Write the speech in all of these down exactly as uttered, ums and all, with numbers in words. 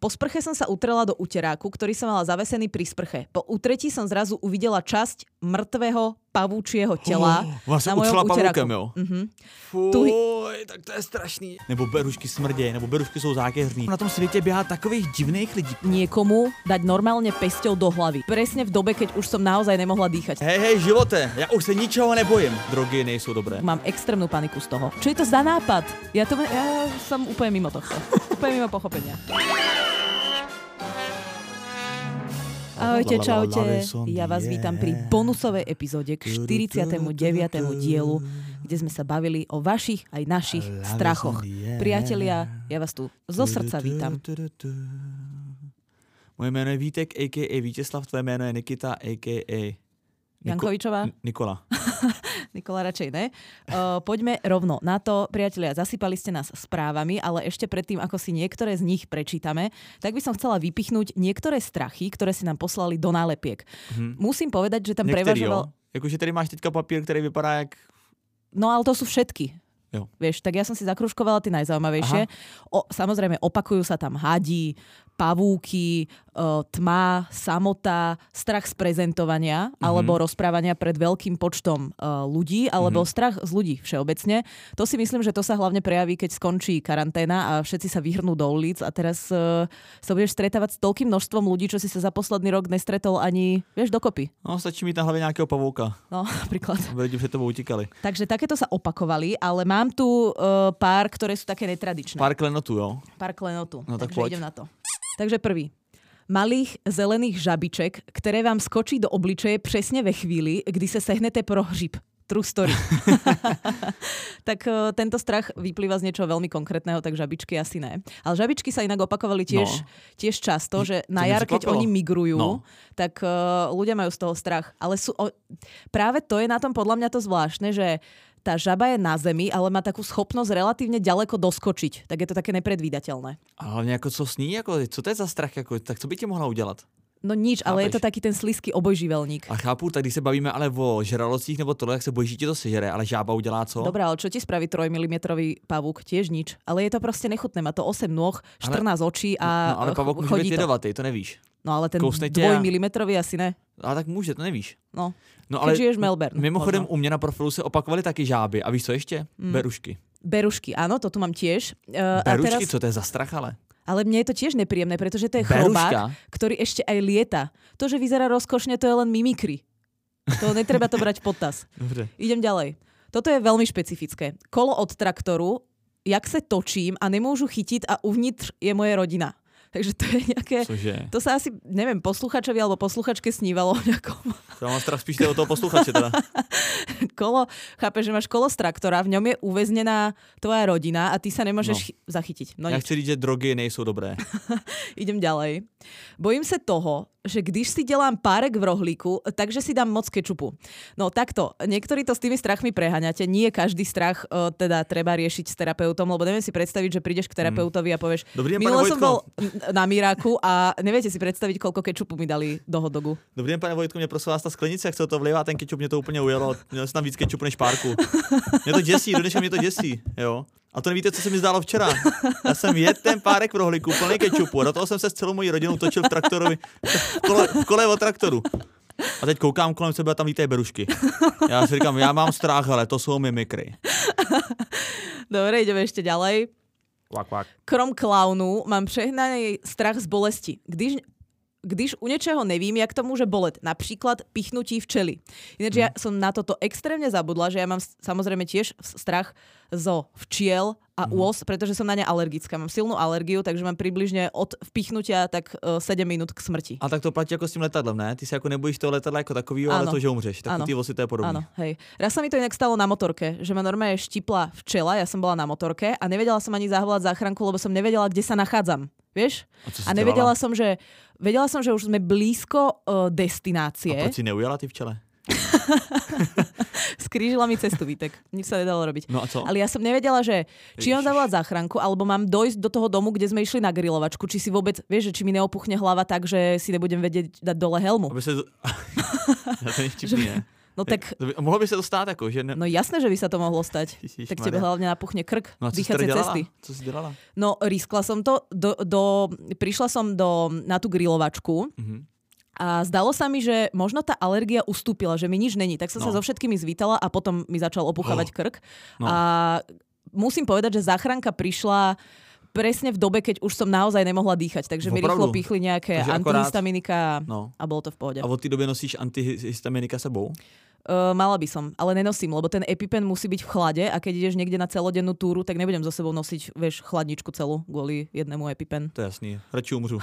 Po sprche som sa utrela do uteráku, ktorý som mala zavesený pri sprche. Po utretí som zrazu uvidela časť mŕtvého pavúčieho tela oh, na mojom uteráku. Uh-huh. Fuj, tak to je strašný. Nebo berušky smrdějí, nebo berušky jsou zákeřní. Na tom světě běhá takových divných lidí. Niekomu dať normálne pesťou do hlavy. Presne v dobe, keď už som naozaj nemohla dýchať. Hej, hej, živote, ja už sa ničoho nebojím. Drogy nejsou dobré. Mám extrémnu paniku z toho. Čo je to za nápad? Ja, to, ja som úplne mimo tohto. Úplne mimo pochopenia. Ahojte, čaute. Ja vás vítam pri bonusovej epizóde k štyridsiatemu deviatemu dielu, kde sme sa bavili o vašich aj našich strachoch. Priatelia, ja vás tu zo srdca vítam. Moje jméno je Vítek, a ká a. Vítězslav, tvoje jméno je Nikita, a ká a. Niko- Jankovičová? Nikola. Nikola radšej ne. Uh, poďme rovno na to. Priatelia, zasypali ste nás správami, ale ešte predtým, ako si niektoré z nich prečítame, tak by som chcela vypichnúť niektoré strachy, ktoré si nám poslali do nálepiek. Mm-hmm. Musím povedať, že tam Niektorý, prevažoval... Jakože tady máš teďka papír, ktorý vypadá jak... No ale to sú všetky. Jo. Vieš, tak ja som si zakružkovala tie najzaujímavejšie. O, samozrejme, opakujú sa tam hadi, pavúky, tma, samota, strach z prezentovania mm-hmm. alebo rozprávania pred veľkým počtom uh, ľudí, alebo mm-hmm. strach z ľudí všeobecne. To si myslím, že to sa hlavne prejaví, keď skončí karanténa a všetci sa vyhrnú do ulic a teraz uh, sa budeš stretávať s toľkým množstvom ľudí, čo si sa za posledný rok nestretol ani, vieš, dokopy. No, stačí mít na hlavě nějakého pavouka. No, napríklad. Lidi před tebou utíkali. Takže takéto sa opakovali, ale mám tu uh, pár, ktoré sú také netradičné. Pár klenotů, jo? Pár klenotů. No, tak Takže poď. idem na to. Takže prvý. Malých zelených žabiček, ktoré vám skočí do obličeje presne ve chvíli, kdy sa sehnete pro hřib. True story. Tak uh, tento strach vyplýva z niečoho veľmi konkrétneho, tak žabičky asi ne. Ale žabičky sa inak opakovali tiež, no. tiež často, že na jar, keď oni migrujú, no. tak uh, ľudia majú z toho strach. Ale sú, o, práve to je na tom podľa mňa to zvláštne, že tá žaba je na zemi, ale má takú schopnosť relatívne ďaleko doskočiť. Tak je to také nepredvídateľné. Ale jako co s ní? Jako, co to je za strach? Jako, tak co by ti mohla udělat? No nič, ale Chápeš? Je to taký ten slízký obojživelník. A chápu, tak když se bavíme ale o žralocích nebo tohle, tak se bojíš, že ti to sežere, ale žába udělá co? Dobrá, ale čo ti spraví trojmilimetrový pavúk? Tiež nič. Ale je to proste nechutné. Má to osem nôh, štrnásť ale, očí a no, ale pavúk môže byť jedovatý, to nevíš. No ale ten dvojmilimetrový asi ne. Ale tak může, to nevíš. No, no ale keď žiješ v Melbourne. Mimochodem možno. U mě na profilu se opakovaly taky žáby. A víš co ještě? Mm. Berušky. Berušky, áno, to tu mám tiež. Uh, Berušky, a teraz... co to je za strach ale? Ale mne je to tiež nepríjemné, pretože to je Beruška. chrobák, ktorý ešte aj lieta. To, že vyzerá rozkošne, to je len mimikry. To netreba to brať v potaz. Dobre. Idem ďalej. Toto je veľmi špecifické. Kolo od traktoru, jak se točím a nemôžu chytiť a uvnitř je moje rodina. Takže to je nejaké... Cože? To sa asi, neviem, posluchačovi alebo posluchačke snívalo nejakom... Ja mám strach spíš od toho posluchače teda. Kolo, chápeš, že máš kolo z traktora, v ňom je uväznená tvoja rodina a ty sa nemôžeš no. chy- zachytiť. No ja nič. chci říct, že drogy nejsou dobré. Idem ďalej. Bojím sa toho, že když si delám párek v rohlíku, takže si dám moc kečupu. No takto, niektorí to s tými strachmi preháňate. Nie každý strach uh, teda treba riešiť s terapeutom, lebo neviem si predstaviť, že prídeš k terapeutovi a povieš, Dobrý deň, minule pane som bol na Miráku a neviete si predstaviť, koľko kečupu mi dali do hotdogu. Dobrý den, pane Vojtku, mě prosím vás ta sklenice, jak se to vlivá, ten kečup mě to úplně ujelo. Měl jsem tam víc kečupu než párku. Mě to děsí, do dneška mě to děsí, jo. A to nevíte, co se mi zdálo včera. Já jsem jedl ten párek v rohlíku, plný kečupu a do toho jsem se s celou mojí rodinou točil v traktorovi, v kole, v kole od traktoru. A teď koukám kolem sebe a tam lítají berušky. Já si říkám, já mám strach, ale to jsou mimikry. Dobre, ideme ešte ďalej. Kvak, kvak. Krom klaunu mám přehnaný strach z bolesti. Když, když u niečoho nevím, jak to môže boleť. Napríklad pichnutí včely. Ináč hmm. ja som na toto extrémne zabudla, že ja mám samozrejme tiež strach zo včiel a mm. úos, pretože som na ne alergická. Mám silnú alergiu, takže mám približne od vpichnutia tak uh, sedem minút k smrti. A tak to platí jako s tím letadlem, ne? Ty se jako nebojíš toho letadla jako takovýho, ale to, že umřeš. Tak ty vosy to je podobné. Áno, hej. Raz sa mi to inak stalo na motorke, že ma normálne štipla včela, ja som bola na motorke a nevedela som ani zavolať záchranku, lebo som nevedela, kde sa nachádzam. Vieš? A, a nevedela som, že vedela som, že už sme blízko uh, destinácie. A proč si neujala ty včele? Skrížila mi cestu, Vítek. Nič sa nedalo robiť. No a co? Ale ja som nevedela, že či mám zavolať záchranku, alebo mám dojsť do toho domu, kde sme išli na grilovačku, či si vôbec, vieš, že či mi neopuchne hlava tak, že si nebudem vedieť dať dole helmu. Aby sa... Ja to nevtipný, ne? No tak... Mohlo by sa to stáť ako, že... Ne... No jasné, že by sa to mohlo stať. Ježiš, tak tebe hlavne napuchne krk, no dýchacie cesty. Co si delala? No riskla som to, do, do, prišla som do, na tú grilovačku mm-hmm. a zdalo sa mi, že možno tá alergia ustúpila, že mi nič není. Tak som no. sa so všetkými zvítala a potom mi začal opuchávať oh. krk. No. A musím povedať, že záchranka prišla presne v dobe, keď už som naozaj nemohla dýchať. Takže mi rýchlo píchli nejaké antihistaminika no. a bolo to v pohode. A od tej doby nosíš antihistaminika sebou? Uh, mala by som, ale nenosím, lebo ten EpiPen musí byť v chlade a keď ideš niekde na celodennú túru, tak nebudem so sebou nosiť, vieš, chladničku celú kvôli jednému EpiPen. To je jasný, radši umřu.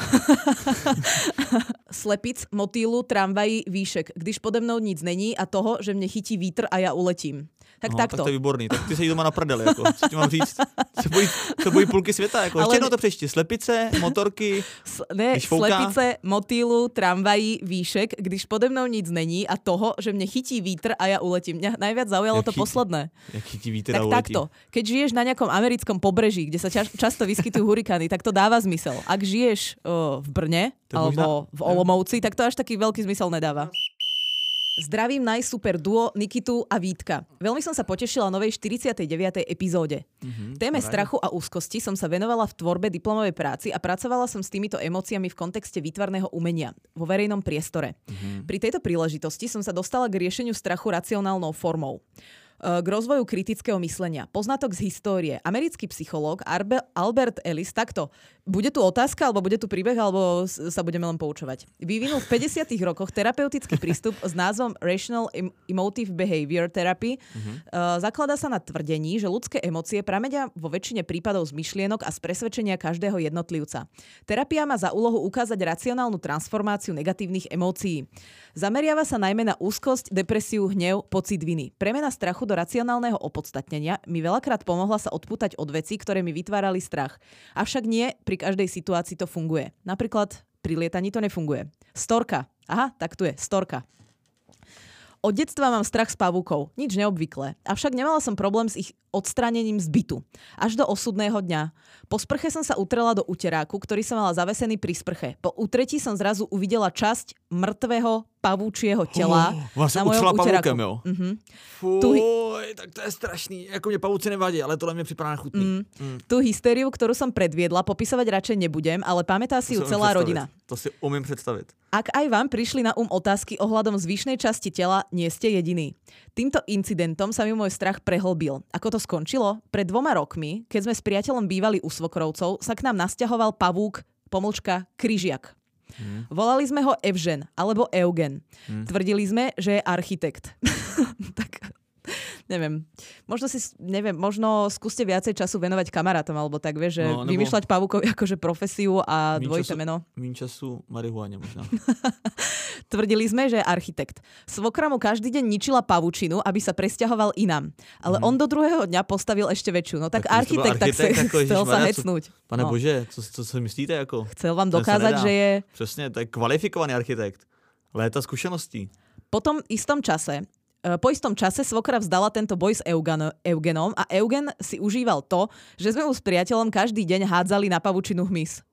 Slepic, motýlu, tramvají, výšek. Když pode mnou nic není a toho, že mne chytí vítr a ja uletím. Tak Aha, takto. Tak to je výborný. Tak ty se jí doma na prdeli, jako. Co ti mám říct? Se bojí, se bojí půlky světa, jako. Ale... Ještě jednou to přečti. Slepice, motorky, S, ne, slepice, motýlu, tramvají, výšek, když pode mnou nic není a toho, že mne chytí vítr a ja uletím. Mňa najviac zaujalo jak to chytí, posledné. Jak chytí vítr tak a uletím. Takto. Keď žiješ na nejakom americkom pobreží, kde sa ča- často vyskytujú hurikány, tak to dáva zmysel. Ak žiješ uh, v Brne to alebo možná... v Olomouci, tak to až taký veľký zmysel nedáva. Zdravím najsuper duo Nikitu a Vítka. Veľmi som sa potešila novej štyridsiatej deviatej epizóde. Mm-hmm, Téme right. strachu a úzkosti som sa venovala v tvorbe diplomovej práci a pracovala som s týmito emóciami v kontexte výtvarného umenia vo verejnom priestore. Mm-hmm. Pri tejto príležitosti som sa dostala k riešeniu strachu racionálnou formou. K rozvoju kritického myslenia. Poznatok z histórie. Americký psychológ Albert Ellis, takto, bude tu otázka, alebo bude tu príbeh, alebo sa budeme len poučovať. Vyvinul v päťdesiatych rokoch terapeutický prístup s názvom Rational Emotive Behavior Therapy. Uh-huh. Zakladá sa na tvrdení, že ľudské emócie pramenia vo väčšine prípadov z myšlienok a z presvedčenia každého jednotlivca. Terapia má za úlohu ukázať racionálnu transformáciu negatívnych emócií. Zameriava sa najmä na úzkosť, depresiu, hnev, pocit viny. Premena strachu do racionálneho opodstatnenia mi veľakrát pomohla sa odpútať od vecí, ktoré mi vytvárali strach. Avšak nie pri každej situácii to funguje. Napríklad pri lietaní to nefunguje. Storka. Aha, tak tu je. Storka. Od detstva mám strach z pavúkov. Nič neobvyklé. Avšak nemala som problém s ich odstránením z bytu. Až do osudného dňa. Po sprche som sa utrela do uteráku, ktorý som mala zavesený pri sprche. Po utretí som zrazu uvidela časť mŕtvého pavúčieho tela oh, na mojom uteráku. Pavúkem, jo? Mm-hmm. Fuj, tu... tak to je strašný. Jako mne pavúci nevadí, ale tohle mne připadá chutný. Mm. Mm. Tú hysteriu, ktorú som predviedla, popisovať radšej nebudem, ale pamätá si ju celá rodina. To si umiem predstaviť. Ak aj vám prišli na um otázky ohľadom zvyšnej časti tela, nie ste jediní. Týmto incidentom sa mi môj strach prehlbil. Ako to skončilo? Pred dvoma rokmi, keď sme s priateľom bývali u svokrovcov, sa k nám nasťahoval pavúk, pomlčka, kryžiak. Hmm. Volali sme ho Evžen alebo Eugen. Hmm. Tvrdili sme, že je architekt. Tak... Neviem, možno si, neviem, možno skúste viacej času venovať kamarátom, alebo tak, vieš, že no, vymýšľať pavúkovi akože profesiu a dvojité meno. Míň času marihuáne možno. Tvrdili sme, že je architekt. Svokra mu každý deň ničila pavučinu, aby sa presťahoval inám. Ale mm. on do druhého dňa postavil ešte väčšiu. No tak, tak architekt, tak sa chcel sa hecnúť. Pane no. Bože, co, co si myslíte? Jako? Chcel vám dokázať, že je... Přesně, to je kvalifikovaný architekt. Léta skúseností. Po tom istom čase Po istom čase svokra vzdala tento boj s Eugen, Eugenom a Eugen si užíval to, že sme mu s priateľom každý deň hádzali na pavučinu hmyz.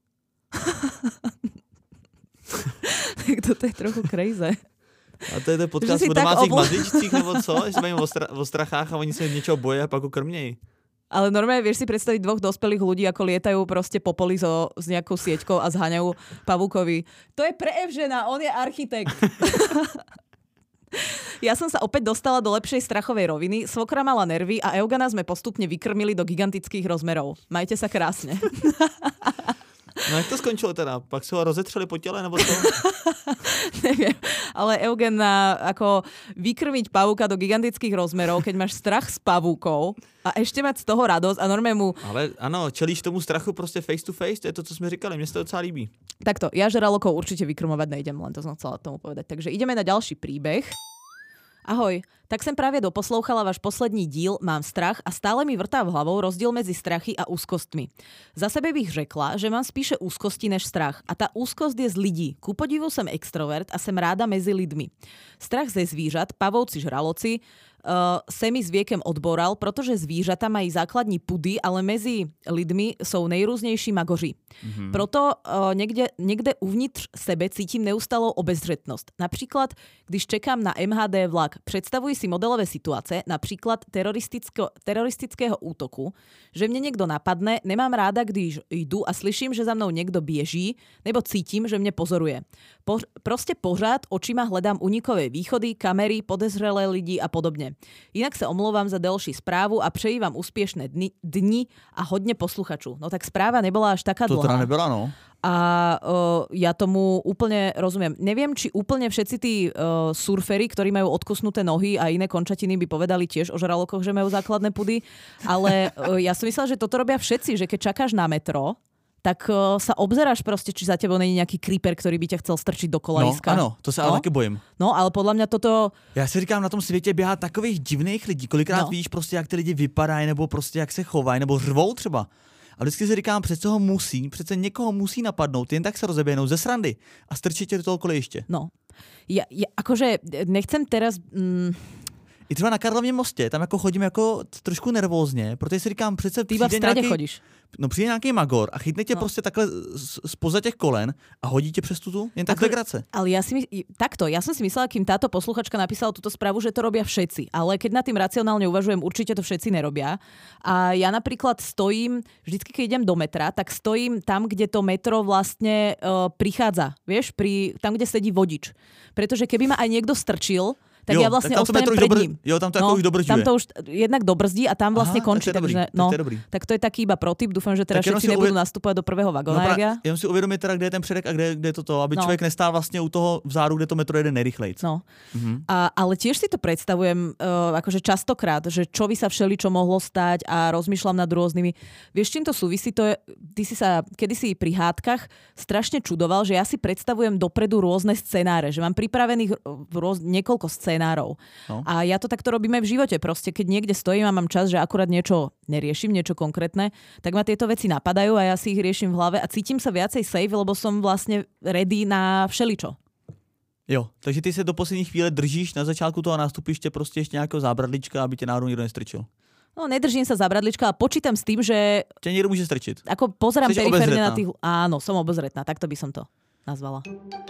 Tak toto je trochu crazy. A to je ten podcast o domácích obl... mazličcích, nebo co? Že sa bavíme o, stra- o strachách a oni sa niečo boja a pak ho krmnej. Ale normálne vieš si predstaviť dvoch dospelých ľudí, ako lietajú proste po poli so, s nejakou sieťkou a zháňajú pavúkovi. To je pre Evžena, on je architekt. Ja som sa opäť dostala do lepšej strachovej roviny, svokra mala nervy a Eugena sme postupne vykrmili do gigantických rozmerov. Majte sa krásne. No jak to skončilo teda? Pak si ho rozetřeli po tele, nebo to? Neviem, ale Eugen, ako vykrmiť pavúka do gigantických rozmerov, keď máš strach z pavúkov a ešte mať z toho radosť a normálne mu... Ale ano, čelíš tomu strachu prostě face to face, to je to, co sme říkali, mne sa to docela líbí. Takto, ja žralokov určite vykrmovať nejdem, len to som chcela tomu povedať. Takže ideme na ďalší príbeh. Ahoj, tak som práve doposlouchala váš poslední díl Mám strach a stále mi vrtá v hlavou rozdiel medzi strachy a úzkostmi. Za sebe bych řekla, že mám spíše úzkosti než strach a tá úzkost je z lidí. Ku podivu som extrovert a som ráda mezi lidmi. Strach ze zvířat, pavouci, žraloci, Uh, semi s viekem odboral, protože zvířata mají základní pudy, ale mezi lidmi jsou nejrůznější magoři. Mm-hmm. Proto uh, někde, někde uvnitř sebe cítím neustalou obezřetnost. Například, když čekám na em há dé vlak, představuji si modelové situace, například teroristického, teroristického útoku, že mě někdo napadne, nemám ráda, když jdu a slyším, že za mnou někdo běží, nebo cítím, že mě pozoruje. Po, prostě pořád očima hledám unikové východy, kamery, podezřelé lidi a podobně. Jinak se omlouvám za delší správu a přeji vám úspěšné dny, dni a hodně posluchačů. No tak správa nebyla až taká dlhá. To teda nebyla, no. A uh, ja tomu úplne rozumiem. Neviem, či úplne všetci tí uh, surferi, ktorí majú odkusnuté nohy a iné končatiny, by povedali tiež o žralokoch, že majú základné pudy, ale uh, ja som myslela, že toto robia všetci, že keď čakáš na metro, tak uh, sa obzeráš proste, či za tebou není nejaký creeper, ktorý by ťa chcel strčiť do kolaiska. No, ano, to se ale no? taky bojím. No, ale podľa mňa toto... Já si říkám, na tom světě běhá takových divných lidí, kolikrát no. víš prostě, jak ty lidi vypadají, nebo prostě jak se chovají, nebo řvou třeba. A vždycky si říkám, přece ho musí, přece někoho musí napadnout, jen tak se rozeběhnou ze srandy a strčit tě do toho kolejiště. No, ja, ja akože nechcem teraz... Mm... I třeba na Karlově mostě, tam jako chodím jako trošku nervózně, protože si říkám, přece Ty iba v strede nějaký, chodíš. No přijde nějaký magor a chytne tě no. prostě takhle spoza těch kolen a hodí tě přes tu tu, jen tak Ako, legrace. Ale ja si my, takto, ja som si myslela, kým táto posluchačka napísala túto správu, že to robia všetci. Ale keď nad tým racionálne uvažujem, určite to všetci nerobia. A ja napríklad stojím, vždycky keď idem do metra, tak stojím tam, kde to metro vlastne uh, prichádza. Vieš, pri, tam, kde sedí vodič. Pretože keby ma aj niekto strčil, tak jo, ja vlastne tak ostanem pred dobr... ním. Jo, tam to no, už dobržuje. Tam to už jednak dobrzdí a tam vlastne Aha, končí. Tak to, takže, dobrý, no, tak to je dobrý. Tak to je taký iba protip. Dúfam, že teraz všetci nebudú uvě... nastupovať do prvého vagóna. No, pra... Jenom si uvědomit teda, kde je ten předek a kde, kde je to to, aby no. člověk nestál vlastně u toho vzáru, kde to metro jede nejrychlejc. No. Mhm. A, ale tiež si to predstavujem uh, akože častokrát, že čo by sa všeličo mohlo stať a rozmýšľam nad rôznymi. Vieš, čím to súvisí? To je, ty si sa kedysi pri hádkach strašne čudoval, že ja si predstavujem dopredu rôzne scenáre, že mám pripravených rôz... niekoľko scenárov. No. A ja to takto robím aj v živote. Proste, keď niekde stojím a mám čas, že akurát niečo neriešim, niečo konkrétne, tak ma tieto veci napadajú a ja si ich riešim v hlave a cítim sa viacej safe, lebo som vlastne ready na všeličo. Jo, takže ty se do poslední chvíle držíš na začátku toho nástupiště prostě ještě nějakého zábradlička, aby tě náhodou nikdo nestrčil. No, nedržím sa zábradlička a počítam s tým, že... Tě někdo může strčiť. Ako pozerám periférne na tých... Áno, som obozretná, takto by som to nazvala.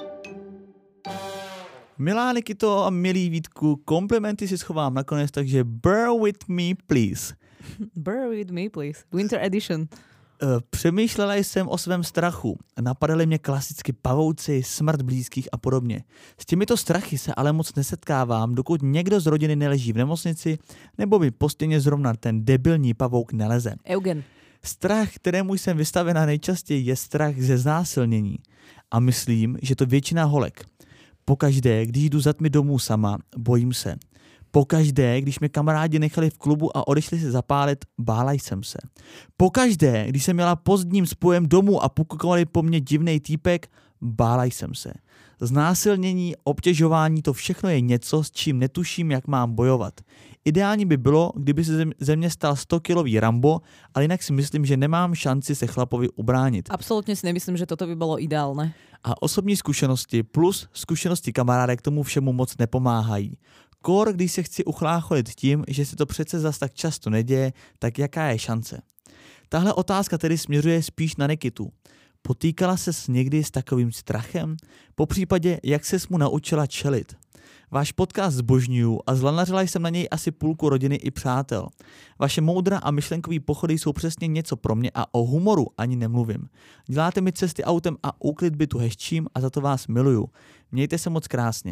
Milá Nikito a milý Vítku, komplimenty si schovám nakonec, takže bear with me, please. Bear with me, please. Winter edition. Přemýšlela jsem o svém strachu. Napadaly mě klasicky pavouci, smrt blízkých a podobně. S těmito strachy se ale moc nesetkávám, dokud někdo z rodiny neleží v nemocnici, nebo by po stěně zrovna ten debilní pavouk neleze. Eugen. Strach, kterému jsem vystavená nejčastěji, je strach ze znásilnění. A myslím, že to většina holek. Pokaždé, když jdu za tmy domů sama, bojím se. Pokaždé, když mě kamarádi nechali v klubu a odešli se zapálit, bála jsem se. Pokaždé, když jsem měla pozdním spojem domů a pukovali po mně divnej týpek, bála jsem se. Znásilnění, obtěžování, to všechno je něco, s čím netuším, jak mám bojovat. Ideální by bylo, kdyby se ze mě stal sto-kilový Rambo, ale jinak si myslím, že nemám šanci se chlapovi ubránit. Absolutně si nemyslím, že toto by bylo ideálne. A osobní zkušenosti plus zkušenosti kamarádek tomu všemu moc nepomáhají. Kor, když se chci uchlácholit tím, že se to přece zas tak často neděje, tak jaká je šance? Tahle otázka tedy směřuje spíš na Nikitu. Potýkala ses někdy s takovým strachem? Popřípadě, jak ses mu naučila čelit? Váš podcast zbožňuju a zlanařila jsem na něj asi půlku rodiny i přátel. Vaše moudra a myšlenkový pochody jsou přesně něco pro mě a o humoru ani nemluvím. Děláte mi cesty autem a úklid bytu hezčím a za to vás miluju. Mějte se moc krásně.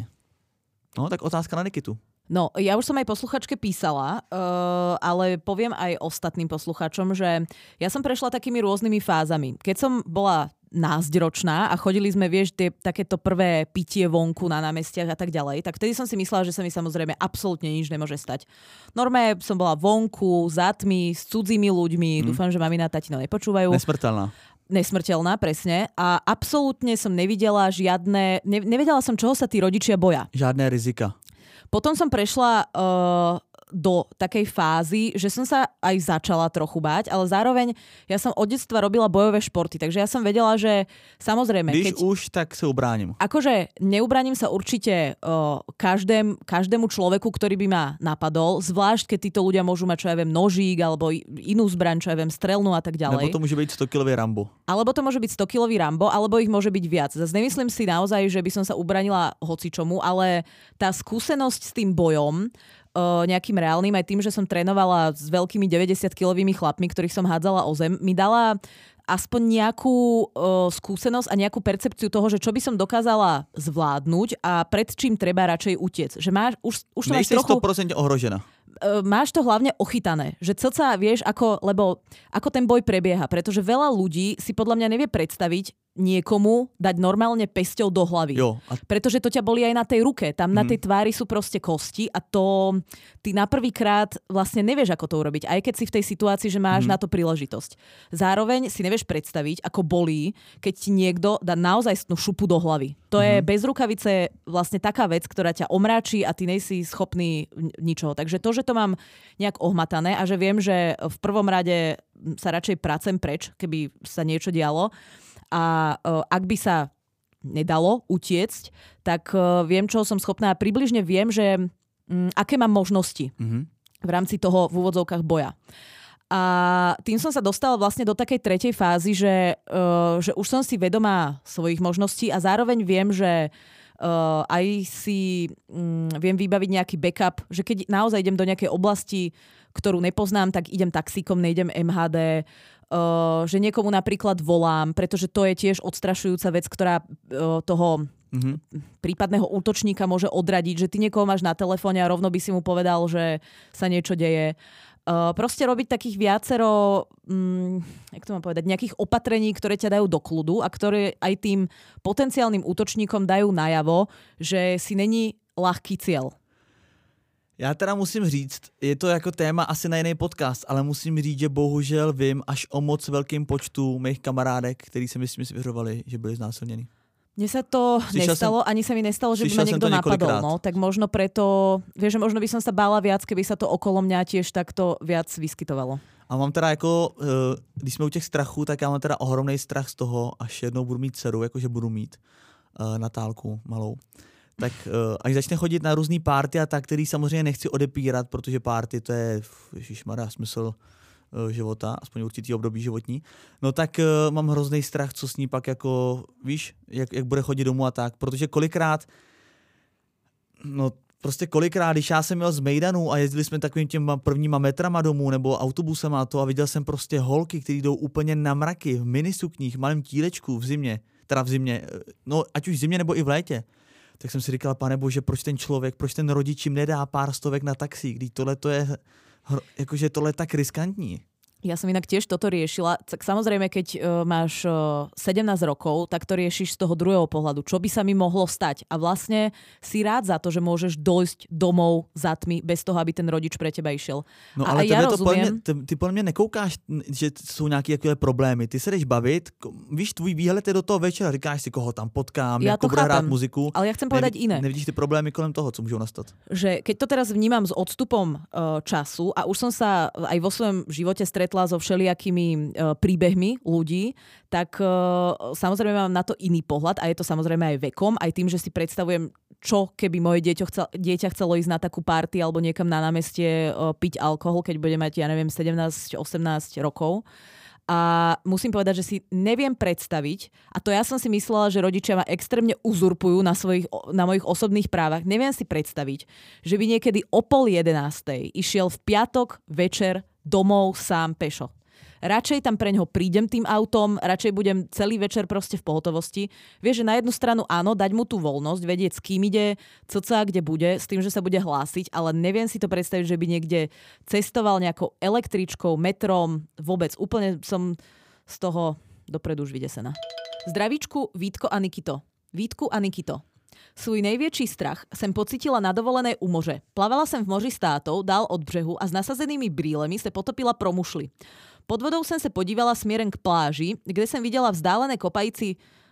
No, tak otázka na Nikitu. No, ja už som aj posluchačke písala, uh, ale poviem aj ostatným posluchačom, že ja som prešla takými rôznymi fázami. Keď som bola násťročná a chodili sme, vieš, tie, takéto prvé pitie vonku na námestiach a tak ďalej, tak vtedy som si myslela, že sa mi samozrejme absolútne nič nemôže stať. Normálne som bola vonku, za tmy, s cudzími ľuďmi, mm. dúfam, že mamina a tatino nepočúvajú. Nesmrteľná. Nesmrteľná, presne. A absolútne som nevidela žiadne, ne, nevedela som, čoho sa tí rodičia boja. Žiadne rizika. Potom som prešla uh, do takej fázy, že som sa aj začala trochu báť, ale zároveň ja som od detstva robila bojové športy, takže ja som vedela, že samozrejme... Když keď, už, tak sa ubránim. Akože neubraním sa určite uh, každém, každému človeku, ktorý by ma napadol, zvlášť keď títo ľudia môžu mať, čo ja viem, nožík alebo inú zbraň, čo ja viem, strelnú a tak ďalej. Nebo to môže byť stokilový Rambo. Alebo to môže byť stokilový Rambo, alebo ich môže byť viac. Zase nemyslím si naozaj, že by som sa ubranila hocičomu, ale tá skúsenosť s tým bojom nejakým reálnym, aj tým, že som trénovala s veľkými deväťdesiatkilovými chlapmi, ktorých som hádzala o zem, mi dala aspoň nejakú uh, skúsenosť a nejakú percepciu toho, že čo by som dokázala zvládnuť a pred čím treba radšej utiec. Že máš, už, už to máš trochu... sto percent ohrožená. Máš to hlavne ochytané, že cca vieš, ako, lebo ako ten boj prebieha, pretože veľa ľudí si podľa mňa nevie predstaviť niekomu dať normálne pesťou do hlavy. Jo, a... Pretože to ťa bolí aj na tej ruke. Tam mm. na tej tvári sú proste kosti a to ty na prvýkrát vlastne nevieš, ako to urobiť. Aj keď si v tej situácii, že máš mm. na to príležitosť. Zároveň si nevieš predstaviť, ako bolí, keď ti niekto dá naozaj šupu do hlavy. To mm. je bez rukavice vlastne taká vec, ktorá ťa omráči a ty nejsi schopný ničoho. Takže to, že to mám nejak ohmatané a že viem, že v prvom rade sa radšej pracem preč, keby sa niečo dialo. A uh, ak by sa nedalo utiecť, tak uh, viem, čo som schopná. Približne viem, že um, aké mám možnosti mm-hmm. v rámci toho v úvodzovkách boja. A tým som sa dostala vlastne do takej tretej fázy, že, uh, že už som si vedomá svojich možností a zároveň viem, že uh, aj si um, viem vybaviť nejaký backup, že keď naozaj idem do nejakej oblasti, ktorú nepoznám, tak idem taxíkom, nejdem em há dé, Uh, že niekomu napríklad volám, pretože to je tiež odstrašujúca vec, ktorá uh, toho mm-hmm. prípadného útočníka môže odradiť, že ty niekoho máš na telefóne a rovno by si mu povedal, že sa niečo deje. Uh, proste robiť takých viacero, um, jak to mám povedať, nejakých opatrení, ktoré ťa dajú do kľudu a ktoré aj tým potenciálnym útočníkom dajú najavo, že si není ľahký cieľ. Já teda musím říct, je to jako téma asi na jiný podcast, ale musím říct, že bohužel vím až o moc velkým počtu mých kamarádek, který se mi svěřovali, že byli znásilněni. Mne sa to slyšel nestalo, som, ani sa mi nestalo, že by ma niekto napadol. No, tak možno preto, vieš, že možno by som sa bála viac, keby sa to okolo mňa tiež takto viac vyskytovalo. A mám teda jako, když jsme u těch strachů, tak já mám teda ohromný strach z toho, až jednou budu mít dceru, jakože budu mít Natálku malou. Tak uh, až začne chodit na různý party a tak, který samozřejmě nechci odepírat, protože party to je, ježišmarja, smysl uh, života, aspoň určitý období životní, no tak uh, mám hrozný strach, co s ní pak jako, víš, jak, jak bude chodit domů a tak, protože kolikrát, no prostě kolikrát, když já jsem jel z Mejdanu a jezdili jsme takovým těma prvníma metrama domů nebo autobusem a to a viděl jsem prostě holky, které jdou úplně na mraky, v minisukních, malém tílečku v zimě, teda v zimě, no ať už v zimě nebo i v létě. Tak jsem si říkal, pane bože, proč ten člověk, proč ten rodič jim nedá pár stovek na taxi, když tohle to je, jakože tohle je tak riskantní. Ja som inak tiež toto riešila. Tak samozrejme, keď uh, máš uh, sedemnásť rokov, tak to riešiš z toho druhého pohľadu. Čo by sa mi mohlo stať? A vlastne si rád za to, že môžeš dojsť domov za tmy, bez toho, aby ten rodič pre teba išiel. No a ale ja to rozumiem... Ty, ty podľa mňa nekoukáš, že sú nejaké takové problémy. Ty sa jdeš bavit, víš, tvůj výhled je do toho večera, říkáš si, koho tam potkám, ja ako bude hrát muziku. Ale ja chcem povedať Nevi, iné. Nevidíš ty problémy kolem toho, co môžu nastať? Že keď to teraz vnímam s odstupom uh, času a už som sa aj vo svojom živote stretla so všelijakými uh, príbehmi ľudí, tak uh, samozrejme mám na to iný pohľad a je to samozrejme aj vekom, aj tým, že si predstavujem, čo keby moje dieťa, chcel, dieťa chcelo ísť na takú party alebo niekam na námestie uh, piť alkohol, keď bude mať, ja neviem, sedemnásť osemnásť rokov. A musím povedať, že si neviem predstaviť, a to ja som si myslela, že rodičia ma extrémne uzurpujú na, svojich, na mojich osobných právach, neviem si predstaviť, že by niekedy o pol jedenástej išiel v piatok večer domov sám pešo. Radšej tam preňho prídem tým autom, radšej budem celý večer proste v pohotovosti. Vieš, že na jednu stranu áno, dať mu tú voľnosť, vedieť s kým ide, cca kde bude, s tým, že sa bude hlásiť, ale neviem si to predstaviť, že by niekde cestoval nejakou električkou, metrom, vôbec. Úplne som z toho dopredu už vydesená. Zdravíčku, Vítko a Nikito. Vítku a Nikito. Svůj největší strach jsem pocítila na dovolené u moře. Plavala jsem v moři s tátou, dál od břehu a s nasazenými brýlemi se potopila pro mušli. Pod vodou jsem se podívala směrem k pláži, kde jsem viděla vzdálené kopající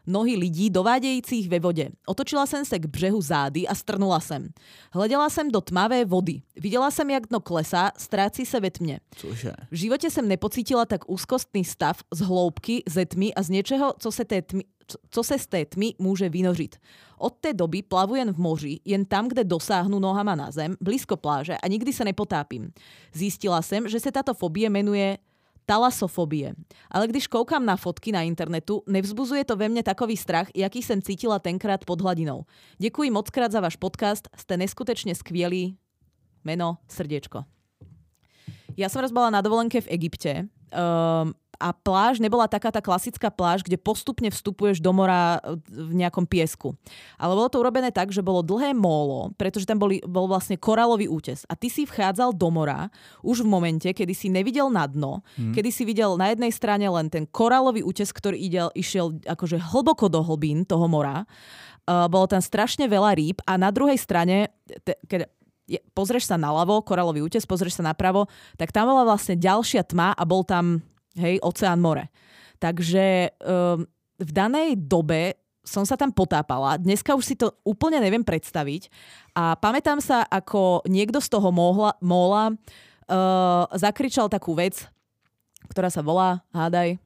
nohy lidí dovádějících ve vodě. Otočila jsem se k břehu zády a strnula jsem. Hleděla jsem do tmavé vody. Viděla jsem, jak dno klesá, ztrácí se ve tmě. Cože? V životě jsem nepocítila tak úzkostný stav z hloubky, ze tmy a z něčeho, co se, té tmy, co se z té tmy může vynořit. Od té doby plavu jen v moři, jen tam, kde dosáhnu nohama na zem, blízko pláže a nikdy se nepotápím. Zjistila jsem, že se tato fobie jmenuje talasofobie. Ale když koukám na fotky na internetu, nevzbuzuje to ve mne takový strach, jaký jsem cítila tenkrát pod hladinou. Děkuji mockrát za váš podcast, ste neskutečne skvělí. Meno, srdiečko. Ja som raz bola na dovolenke v Egypte um, a pláž nebola taká tá klasická pláž, kde postupne vstupuješ do mora v nejakom piesku. Ale bolo to urobené tak, že bolo dlhé mólo, pretože tam boli, bol vlastne koralový útes. A ty si vchádzal do mora už v momente, kedy si nevidel na dno, hmm. kedy si videl na jednej strane len ten koralový útes, ktorý idel, išiel akože hlboko do hlbín toho mora. Uh, bolo tam strašne veľa rýb a na druhej strane, te, keď pozrieš sa naľavo, koralový útes, pozrieš sa napravo, tak tam bola vlastne ďalšia tma a bol tam hej, oceán, more. Takže um, v danej dobe som sa tam potápala. Dneska už si to úplne neviem predstaviť. A pamätám sa, ako niekto z toho mohla, móla uh, zakričal takú vec, ktorá sa volá, hádaj.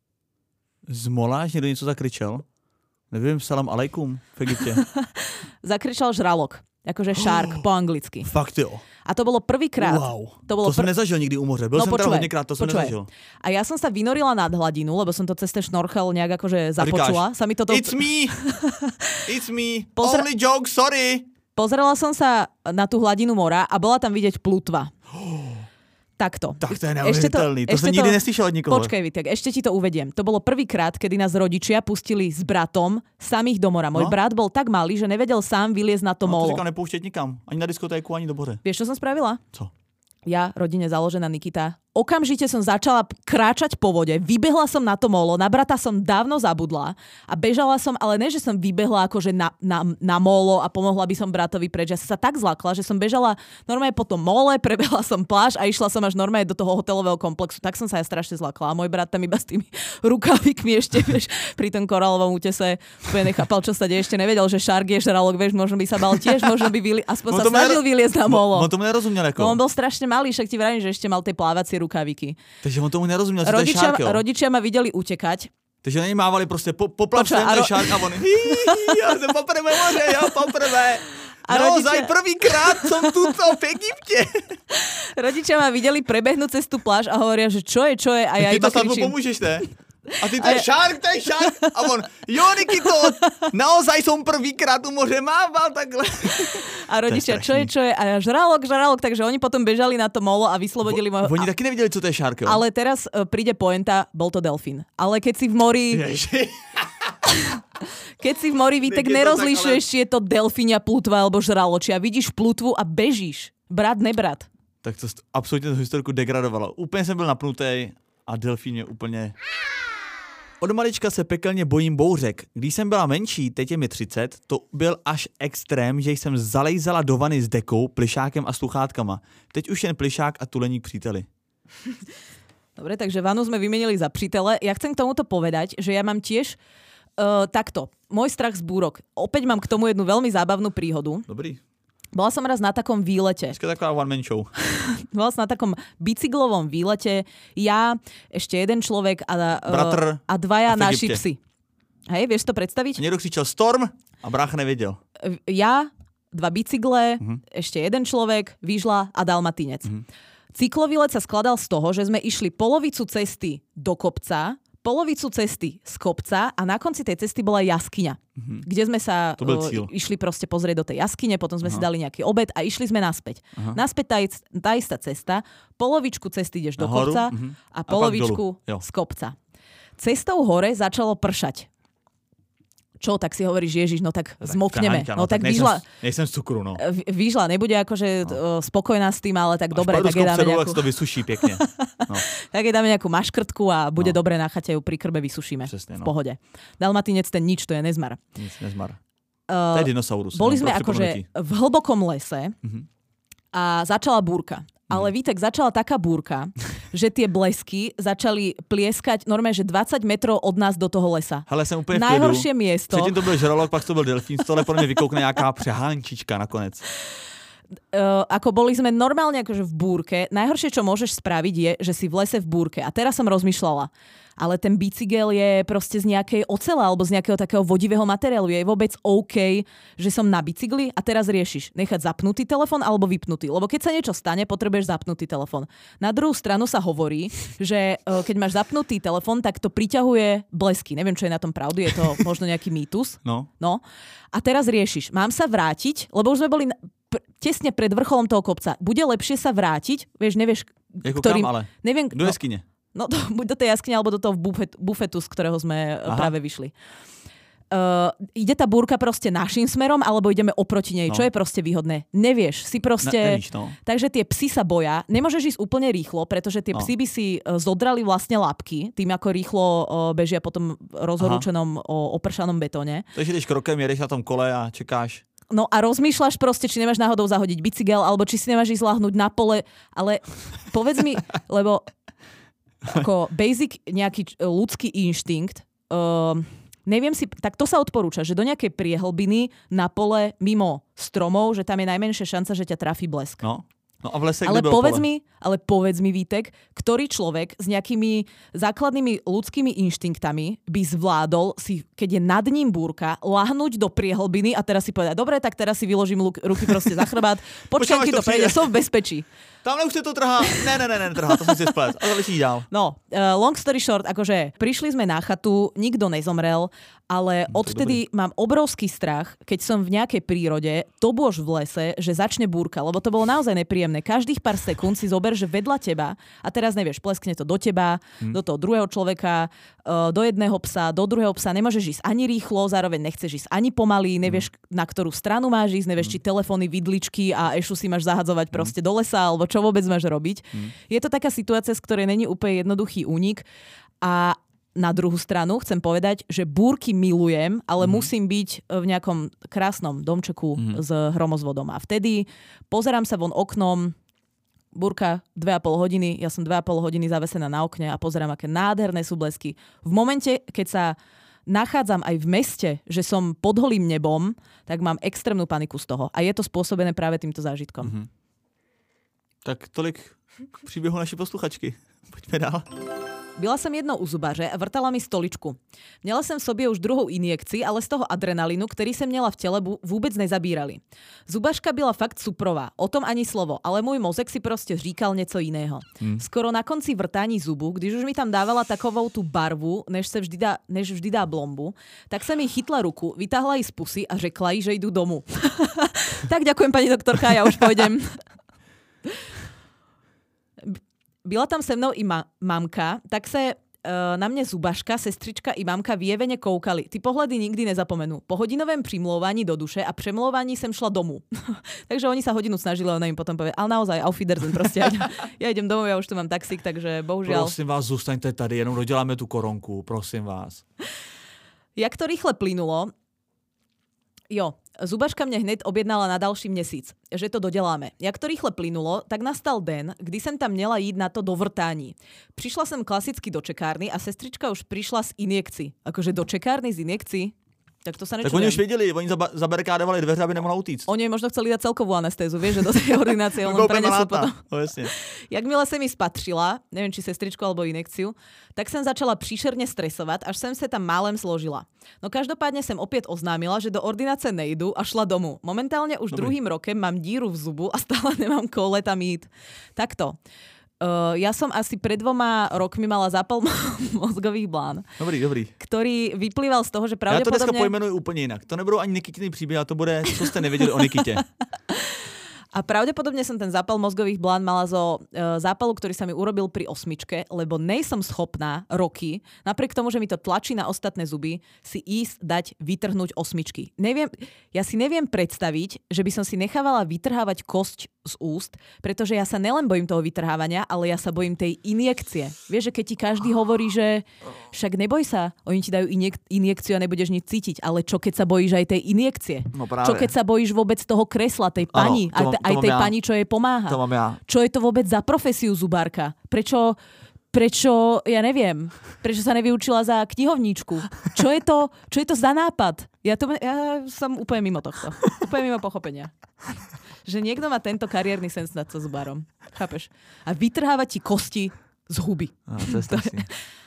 Z mola niekto niečo zakričal? Neviem, salam alejkum v Egypte. Zakričal žralok. Akože shark oh, po anglicky. Fakt jo. A to bolo prvýkrát. Wow. To, bolo to som pr... nezažil nikdy u moře. Byl no, som počúvaj, tam hodněkrát, to som počúvaj. nezažil. A ja som sa vynorila nad hladinu, lebo som to cez ten šnorchel nejak akože započula. Sa mi toto... It's me! It's me! Pozre... Only joke, sorry! Pozrela som sa na tú hladinu mora a bola tam vidieť plutva. Takto. Tak to je neuvěřitelný. To, to som nikdy to... neslyšel od nikoho. Počkej, Vitek, ešte ti to uvediem. To bolo prvýkrát, kedy nás rodičia pustili s bratom samých do mora. Môj no? brat bol tak malý, že nevedel sám vyliezť na to no, molo. No to nepouštěť nikam. Ani na diskotéku, ani do moře. Vieš, čo som spravila? Co? Ja, rodine založená Nikita, okamžite som začala kráčať po vode, vybehla som na to molo, na brata som dávno zabudla a bežala som, ale ne, že som vybehla akože na, na, na molo a pomohla by som bratovi preč. Ja som sa tak zlakla, že som bežala normálne po tom mole, prebehla som pláž a išla som až normálne do toho hotelového komplexu. Tak som sa ja strašne zlakla a môj brat tam iba s tými rukávikmi ešte, vieš, pri tom koralovom útese úplne nechápal, čo sa deje, ešte nevedel, že šark je žralok, vieš, možno by sa bal tiež, možno by vyli, aspoň sa snažil vyliezť na molo. On tomu nerozumel ako. No, on bol strašne malý, však ti vravím, že ešte mal tie plávacie rukáviky. Takže on tomu nerozumel, že rodičia, to je šárk, rodičia ma videli utekať. Takže na něj mávali prostě po, poplav sem, to je šárk a on hí, já jsem poprvé moře, jo, poprvé. A naozaj rodičia... prvýkrát som tuto v Egypte. Rodičia ma videli prebehnúť cez tú pláž a hovoria, že čo je, čo je a ja iba kričím. Ty to pomôžeš, ne? A ty to je šárk, to je šárk. A on, jo, Nikito, naozaj som prvýkrát u moře mával takhle. A rodičia, čo je, čo je? A ja žralok, žralok, takže oni potom bežali na to molo a vyslobodili Vo, môj... Oni taky nevideli, co to je šárk, jo? Ale teraz uh, príde pointa, bol to delfín. Ale keď si v mori... Keď si v mori, Vítek, nerozlišuješ, či je to delfínia, plutva alebo žraločia. Vidíš plutvu a bežíš. Brat, nebrat. Tak to absolutně tu historku degradovalo. Úplně jsem byl napnutý a delfín je úplně... Od malička se pekelně bojím bouřek. Když jsem byla menší, teď je mi třicet, to byl až extrém, že jsem zalejzala do vany s dekou, plišákem a sluchátkama. Teď už jen plišák a tuleník příteli. Dobre, takže vanu sme vymenili za přítele. Ja chcem k tomuto povedať, že ja mám tiež uh, takto. Môj strach z búrok. Opäť mám k tomu jednu veľmi zábavnú príhodu. Dobrý. Bola som raz na takom výlete. Dneska taková one man show. Bola som na takom bicyklovom výlete. Ja, ešte jeden človek a, Bratr a dvaja a naši psi. Hej, vieš to predstaviť? Niekto křičel Storm a brácha nevedel. Ja, dva bicykle, uh-huh. ešte jeden človek, výžla a dalmatinec. Uh-huh. Cyklovýlet sa skladal z toho, že sme išli polovicu cesty do kopca, polovicu cesty z kopca a na konci tej cesty bola jaskyňa, mm-hmm. kde sme sa uh, išli proste pozrieť do tej jaskyne, potom sme Aha. si dali nejaký obed a išli sme naspäť. Aha. Naspäť tá, tá istá cesta, polovičku cesty ideš do Nahoru, kopca mm-hmm. a polovičku a z kopca. Cestou hore začalo pršať. Čo, tak si hovoríš, Ježiš, no tak zmokneme. Haňka, no, no tak výžla... Nejsem z cukru, no. Výžla nebude akože no. spokojná s tým, ale tak až dobre, tak je dáme nejakú... to vysuší pekne. No. Tak je dáme nejakú maškrtku a bude no. dobre na chate, ju pri krbe vysušíme. Přesne, v no. pohode. Dalmatinec ten nič, to je nezmar. Nic, nezmar. Uh, to je dinosaurus. Boli no, sme akože v hlbokom lese uh-huh. a začala búrka. Ale Vítek, začala taká búrka, že tie blesky začali plieskať normálne, že dvadsať metrov od nás do toho lesa. Hele, jsem úplně v Najhoršie klidu. miesto. Předtím to byl žralok, pak to byl delfín, z toho podle mě vykoukne nějaká přehánčička nakonec. Uh, ako boli sme normálne akože v búrke. Najhoršie, čo môžeš spraviť, je, že si v lese v búrke. A teraz som rozmýšľala, ale ten bicykel je proste z nejakej ocele alebo z nejakého takého vodivého materiálu. Je vôbec OK, že som na bicykli a teraz riešiš nechať zapnutý telefon alebo vypnutý. Lebo keď sa niečo stane, potrebuješ zapnutý telefon. Na druhú stranu sa hovorí, že uh, keď máš zapnutý telefon, tak to priťahuje blesky. Neviem, čo je na tom pravdu, je to možno nejaký mýtus. No. No. A teraz riešiš, mám sa vrátiť, lebo už sme boli na tesne pred vrcholom toho kopca. Bude lepšie sa vrátiť, vieš, nevieš, jako ktorým... kam ale? Neviem, do jeskyne. No, no buď do tej jaskyne, alebo do toho bufet, bufetu, z ktorého sme Aha. práve vyšli. Uh, ide tá búrka proste našim smerom, alebo ideme oproti nej? No. Čo je proste výhodné? Nevieš, si proste... Ne, nevíš, no. Takže tie psi sa boja. Nemôžeš ísť úplne rýchlo, pretože tie no. psi by si zodrali vlastne labky, tým ako rýchlo uh, bežia po tom rozhorúčenom uh, opršanom betóne. Takže ideš krokem, jedeš na tom kole a čekáš. No a rozmýšľaš proste, či nemáš náhodou zahodiť bicykel, alebo či si nemáš ísť láhnuť na pole, ale povedz mi, lebo ako basic nejaký ľudský inštinkt, uh, neviem si, tak to sa odporúča, že do nejakej priehlbiny na pole mimo stromov, že tam je najmenšia šanca, že ťa trafí blesk. No. No a v lese, ale kde bylo povedz pole? mi, ale povedz mi, Vítek, ktorý človek s nejakými základnými ľudskými inštinktami by zvládol si, keď je nad ním búrka, lahnúť do priehlbiny a teraz si povedať, dobre, tak teraz si vyložím ruky proste za chrbát, počkaj, keď to prejde, som v bezpečí. Tamhle už se to trhá. Ne, ne, ne, ne, trhá, to som si splet. A to vyšší dál. No, uh, long story short, akože prišli sme na chatu, nikto nezomrel, ale no, odvtedy mám obrovský strach, keď som v nejakej prírode, to bôž v lese, že začne búrka, lebo to bolo naozaj nepríjemné. Každých pár sekúnd si zober, že vedľa teba, a teraz nevieš, pleskne to do teba, hmm. do toho druhého človeka, uh, do jedného psa, do druhého psa, nemôžeš ísť ani rýchlo, zároveň nechceš ísť ani pomaly, nevieš, hmm. na ktorú stranu máš ísť, nevieš, hmm. či telefóny, vidličky a ešu si máš zahadzovať hmm. proste do lesa, alebo čo vôbec máš robiť. Hmm. Je to taká situácia, z ktorej není úplne jednoduchý únik a na druhú stranu chcem povedať, že búrky milujem, ale mm. musím byť v nejakom krásnom domčeku mm. s hromozvodom. A vtedy pozerám sa von oknom, búrka dve a pol hodiny, ja som dve a pol hodiny zavesená na okne a pozerám, aké nádherné sú blesky. V momente, keď sa nachádzam aj v meste, že som pod holým nebom, tak mám extrémnu paniku z toho. A je to spôsobené práve týmto zážitkom. Mm-hmm. Tak tolik k příběhu naší posluchačky. Poďme dál. Byla som jednou u zubaře a vrtala mi stoličku. Měla jsem v sobě už druhou injekci, ale z toho adrenalinu, který jsem měla v těle, vůbec nezabírali. Zubařka byla fakt suprová, o tom ani slovo, ale můj mozek si prostě říkal něco jiného. Hmm. Skoro na konci vrtání zubu, když už mi tam dávala takovou tu barvu, než, se vždy dá, než vždy dá blombu, tak jsem jí chytla ruku, vytáhla ji z pusy a řekla jí, že jdu domů. Tak ďakujem, pani doktorka, ja už pôjdem. Byla tam se mnou i ma- mamka, tak se uh, na mě zubaška, sestřička i mamka vyjeveně koukali. Ty pohledy nikdy nezapomenu. Po hodinovém přimlouvání do duše a přemlouvání jsem šla domů. Takže oni sa hodinu snažili, ona im potom povie, ale naozaj, auf Wiedersehen, prostě ja idem, ja idem domov, ja už tu mám taxík, takže bohužiaľ. Prosím vás, zůstaňte tady, jenom doděláme tu koronku, prosím vás. Jak to rýchle plynulo, jo, zubaška mne hneď objednala na další měsíc, že to doděláme. Jak to rýchle plynulo, tak nastal den, kdy jsem tam měla jít na to dovrtání. Přišla jsem klasicky do čekárny a sestrička už přišla z injekcí. Akože do čekárny z injekcí? Tak to sa nečujem. Tak oni už věděli, oni zabarikádovali dveře, aby nemohla utíct. Oni možno chceli dať celkovú anestézu, vieš, že do tej ordinácie on prenesú potom. No, jasne. Jakmile sa mi spatřila, neviem, či sestričku alebo injekciu, tak som začala příšerne stresovať, až som sa tam málem zložila. No každopádne som opäť oznámila, že do ordinácie nejdu a šla domů. Momentálne už Dobrý. druhým rokem mám díru v zubu a stále nemám koule tam jít. Takto. Uh, ja som asi pred dvoma rokmi mala zápal mozgových blán. Dobrý, dobrý. Ktorý vyplýval z toho, že pravdepodobne... Ja to dneska pojmenuju úplne inak. To nebudú ani Nikitiny príbehy, ale to bude, čo ste nevedeli o Nikite. A pravdepodobne som ten zápal mozgových blán mala zo uh, zápalu, ktorý sa mi urobil pri osmičke, lebo nejsom schopná roky, napriek tomu, že mi to tlačí na ostatné zuby, si ísť dať vytrhnúť osmičky. Neviem, ja si neviem predstaviť, že by som si nechávala vytrhávať kosť z úst, pretože ja sa nelen bojím toho vytrhávania, ale ja sa bojím tej injekcie. Vieš, že keď ti každý hovorí, že však neboj sa, oni ti dajú injek- injekciu a nebudeš nič cítiť, ale čo keď sa bojíš aj tej injekcie? No práve. Čo keď sa bojíš vôbec toho kresla, tej pani, ano, aj, aj tej ja. pani, čo jej pomáha? To mám ja. Čo je to vôbec za profesiu zubárka? Prečo... Prečo, ja neviem, prečo sa nevyučila za knihovníčku? Čo je to, čo je to za nápad? Ja, to, ja som úplne mimo tohto. Úplne mimo pochopenia. Že niekto má tento kariérny sen stať sa zubárom. Chápeš? A vytrháva ti kosti z huby. No, to je strašný.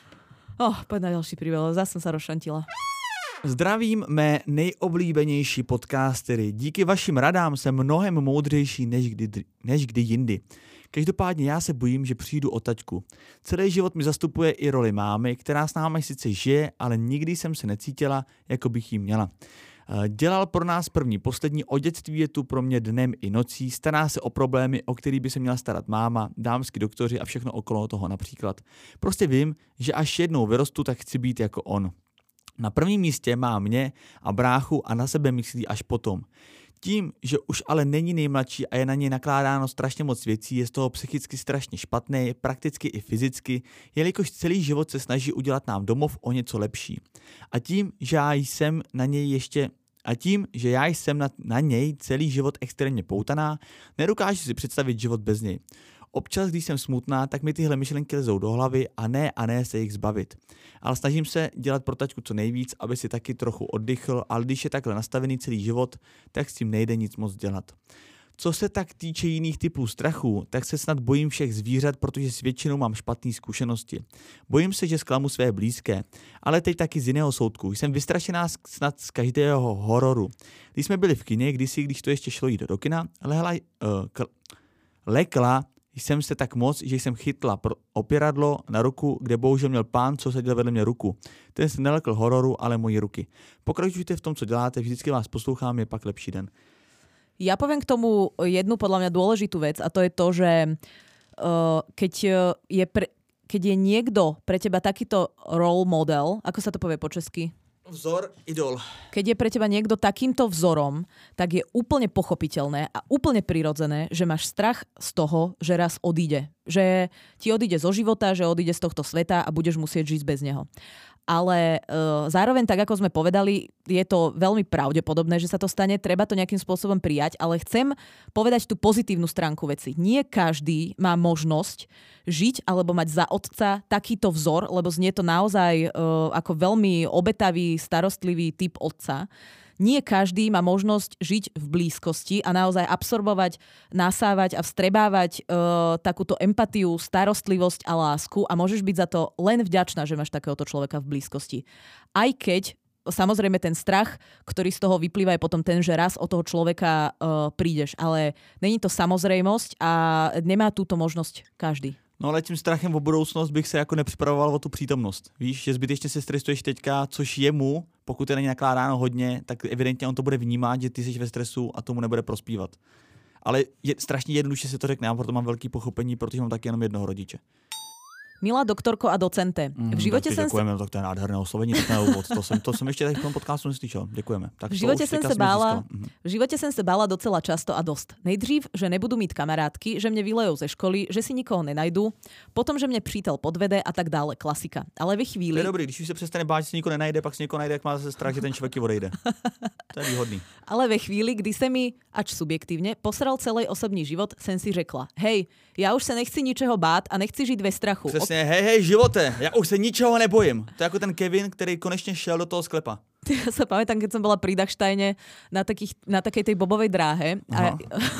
Oh, poď na ďalší príbeh, zase som sa rozšantila. Zdravím mé nejoblíbenější podcastery. Díky vašim radám jsem mnohem moudřejší než kdy, než kdy jindy. Každopádně já se bojím, že přijdu o taťku. Celý život mi zastupuje i roli mámy, která s námi sice žije, ale nikdy jsem se necítila, jako bych jí měla. Dělal pro nás první, poslední, o dětství je tu pro mě dnem i nocí, stará se o problémy, o který by se měla starat máma, dámský doktoři a všechno okolo toho například. Prostě vím, že až jednou vyrostu, tak chci být jako on. Na prvním místě má mě a bráchu a na sebe myslí až potom. Tím, že už ale není nejmladší a je na něj nakládáno strašně moc věcí, je z toho psychicky strašně špatný, prakticky i fyzicky, jelikož celý život se snaží udělat nám domov o něco lepší. A tím, že já jsem na něj ještě a tím, že já jsem na, na něj celý život extrémně poutaná, nedokážu si představit život bez něj. Občas, když jsem smutná, tak mi tyhle myšlenky lezou do hlavy a ne a ne se jich zbavit. Ale snažím se dělat pro taťku co nejvíc, aby si taky trochu oddychl, ale když je takhle nastavený celý život, tak s tím nejde nic moc dělat. Co se tak týče jiných typů strachu, tak se snad bojím všech zvířat, protože s většinou mám špatné zkušenosti. Bojím se, že zklamu své blízké, ale teď taky z jiného soudku. Jsem vystrašená snad z každého hororu. Když jsme byli v kině, kdysi, když to ještě šlo jít do kina, lehla, uh, k, lekla jsem se tak moc, že jsem chytla opěradlo na ruku, kde bohužel měl pán, co seděl vedle mě ruku. Ten se nelekl hororu, ale moji ruky. Pokračujte v tom, co děláte, vždycky vás poslouchám, je pak lepší den. Ja poviem k tomu jednu podľa mňa dôležitú vec a to je to, že uh, keď, je pre, keď je niekto pre teba takýto role model, ako sa to povie po česky? Vzor, idol. Keď je pre teba niekto takýmto vzorom, tak je úplne pochopiteľné a úplne prirodzené, že máš strach z toho, že raz odíde. Že ti odíde zo života, že odíde z tohto sveta a budeš musieť žiť bez neho. Ale e, zároveň, tak ako sme povedali, je to veľmi pravdepodobné, že sa to stane, treba to nejakým spôsobom prijať, ale chcem povedať tú pozitívnu stránku veci. Nie každý má možnosť žiť alebo mať za otca takýto vzor, lebo znie to naozaj e, ako veľmi obetavý, starostlivý typ otca. Nie každý má možnosť žiť v blízkosti a naozaj absorbovať, nasávať a vstrebávať e, takúto empatiu, starostlivosť a lásku a môžeš byť za to len vďačná, že máš takéhoto človeka v blízkosti. Aj keď samozrejme ten strach, ktorý z toho vyplýva, je potom ten, že raz od toho človeka e, prídeš, ale není to samozrejmosť a nemá túto možnosť každý. No ale tím strachem o budoucnost bych se jako nepřipravoval o tu přítomnost. Víš, že zbytečně se stresuješ teďka, což jemu, pokud je na ně nakládáno hodně, tak evidentně on to bude vnímat, že ty jsi ve stresu a tomu nebude prospívat. Ale je strašně jednoduše se to řekne, já proto mám velký pochopení, protože mám taky jenom jednoho rodiče. Milá doktorko a docente, v živote mm, som děkujeme, sa... tak to je nádherné oslovení, tak na úvod. To som, to som ešte v tom podcastu neslyšel. Děkujeme. Tak v živote som sa bála, v živote som sa bála docela často a dosť. Nejdřív, že nebudú mít kamarátky, že mne vylejú ze školy, že si nikoho nenajdú, potom, že mne přítel podvede a tak dále, klasika. Ale ve chvíli... To je dobrý, když už se přestane bát, že si nikoho nenajde, pak si nikoho najde, jak má zase strach, že ten člověk odejde. To je výhodný. Ale ve chvíli, kdy se mi, ač subjektívne, posral celý osobní život, som si řekla, hej, ja už sa nechci ničeho bát a nechci žiť ve strachu. Přesně, hej, hej, živote, já už se ničeho nebojím. To je jako ten Kevin, který konečně šel do toho sklepa. Ja sa pamätám, keď som bola pri Dachsteine na, takých, na takej tej bobovej dráhe. A...